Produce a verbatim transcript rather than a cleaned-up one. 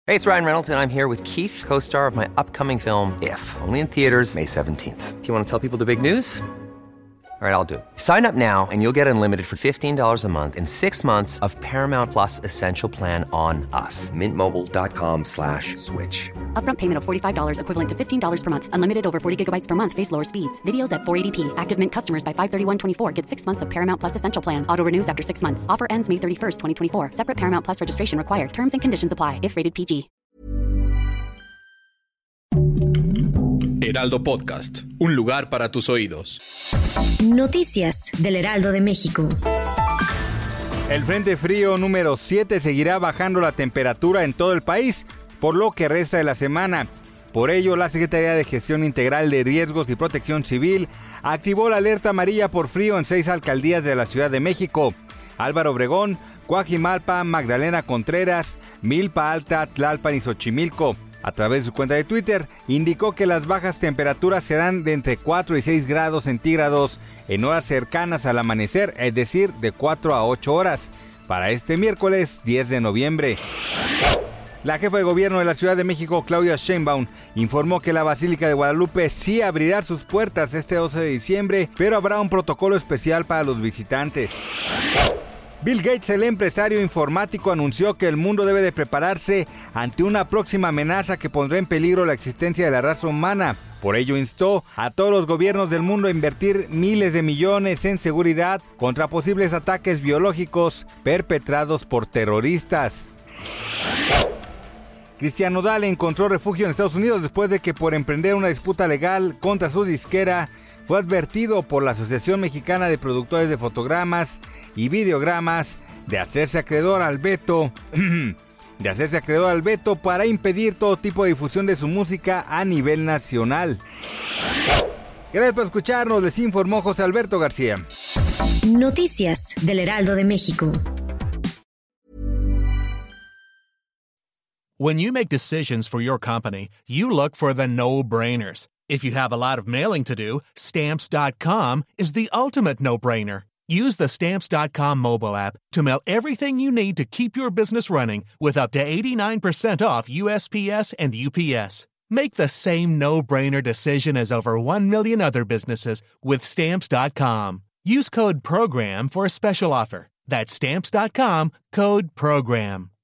Hey, it's Ryan Reynolds, and I'm here with Keith, co-star of my upcoming film, If, only in theaters May seventeenth. Do you want to tell people the big news? All right, I'll do it. Sign up now and you'll get unlimited for fifteen dollars a month and six months of Paramount Plus Essential Plan on us. Mint Mobile dot com slash switch. Upfront payment of forty-five dollars equivalent to fifteen dollars per month. Unlimited over forty gigabytes per month. Face lower speeds. Videos at four eighty p. Active Mint customers by five thirty-one twenty-four get six months of Paramount Plus Essential Plan. Auto renews after six months. Offer ends May thirty-first, twenty twenty-four. Separate Paramount Plus registration required. Terms and conditions apply if rated P G. Heraldo Podcast, un lugar para tus oídos. Noticias del Heraldo de México. El Frente Frío número siete seguirá bajando la temperatura en todo el país, por lo que resta de la semana. Por ello, la Secretaría de Gestión Integral de Riesgos y Protección Civil activó la alerta amarilla por frío en seis alcaldías de la Ciudad de México: Álvaro Obregón, Coajimalpa, Magdalena Contreras, Milpa Alta, Tlalpan y Xochimilco. A través de su cuenta de Twitter, indicó que las bajas temperaturas serán de entre cuatro y seis grados centígrados en horas cercanas al amanecer, es decir, de cuatro a ocho horas, para este miércoles diez de noviembre. La jefa de gobierno de la Ciudad de México, Claudia Sheinbaum, informó que la Basílica de Guadalupe sí abrirá sus puertas este doce de diciembre, pero habrá un protocolo especial para los visitantes. Bill Gates, el empresario informático, anunció que el mundo debe de prepararse ante una próxima amenaza que pondrá en peligro la existencia de la raza humana. Por ello instó a todos los gobiernos del mundo a invertir miles de millones en seguridad contra posibles ataques biológicos perpetrados por terroristas. Cristian Nodal encontró refugio en Estados Unidos después de que, por emprender una disputa legal contra su disquera, fue advertido por la Asociación Mexicana de Productores de Fotogramas y Videogramas de hacerse acreedor al veto, de hacerse acreedor al veto para impedir todo tipo de difusión de su música a nivel nacional. Gracias por escucharnos, les informó José Alberto García. Noticias del Heraldo de México. When you make decisions for your company, you look for the no-brainers. If you have a lot of mailing to do, Stamps dot com is the ultimate no-brainer. Use the Stamps dot com mobile app to mail everything you need to keep your business running with up to eighty-nine percent off U S P S and U P S. Make the same no-brainer decision as over one million other businesses with Stamps dot com. Use code PROGRAM for a special offer. That's Stamps dot com, code PROGRAM.